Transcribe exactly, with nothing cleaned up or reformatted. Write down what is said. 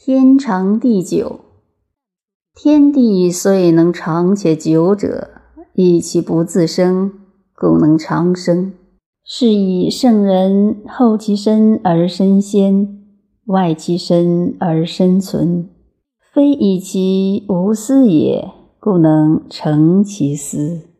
天长地久。天地虽能长且久者，亦其不自生，故能长生。是以圣人后其身而身先，外其身而身存，非以其无私也，故能成其私。